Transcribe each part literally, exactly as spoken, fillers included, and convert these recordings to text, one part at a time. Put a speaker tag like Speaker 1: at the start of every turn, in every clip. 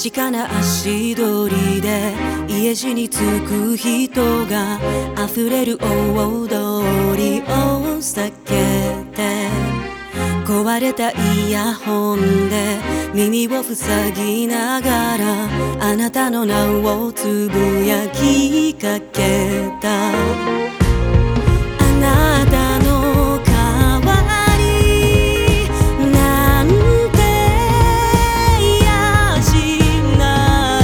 Speaker 1: 確かな足取りで家路に着く人が溢れる大通りを避けて、壊れたイヤホンで耳を塞ぎながらあなたの名をつぶやきかけた。あなたの代わりなんてやしない、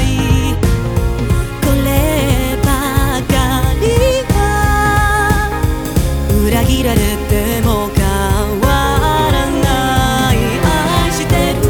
Speaker 1: こればかりは裏切られても変わらない。愛してる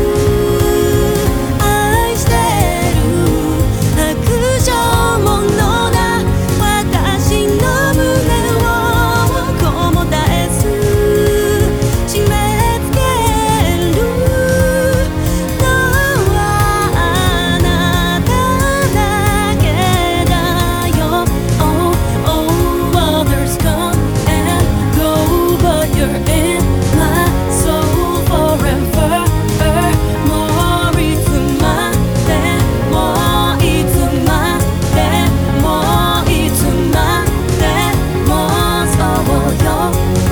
Speaker 1: 愛してる白状者な私の胸をこもたえず締め付けるのはあなただけだよ。 Oh, oh, others come and go, but you're in my soul forever. もういつまでもいつまでもいつまでもそうよ。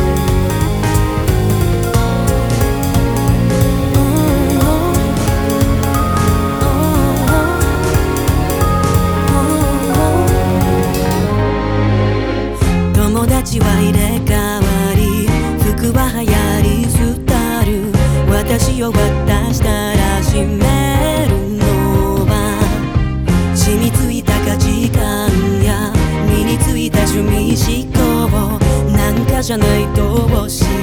Speaker 1: 友達は入れ替わり服は流行り廃る、私を渡したら閉めるのは染みついた価値観や身についた趣味思考なんかじゃないと教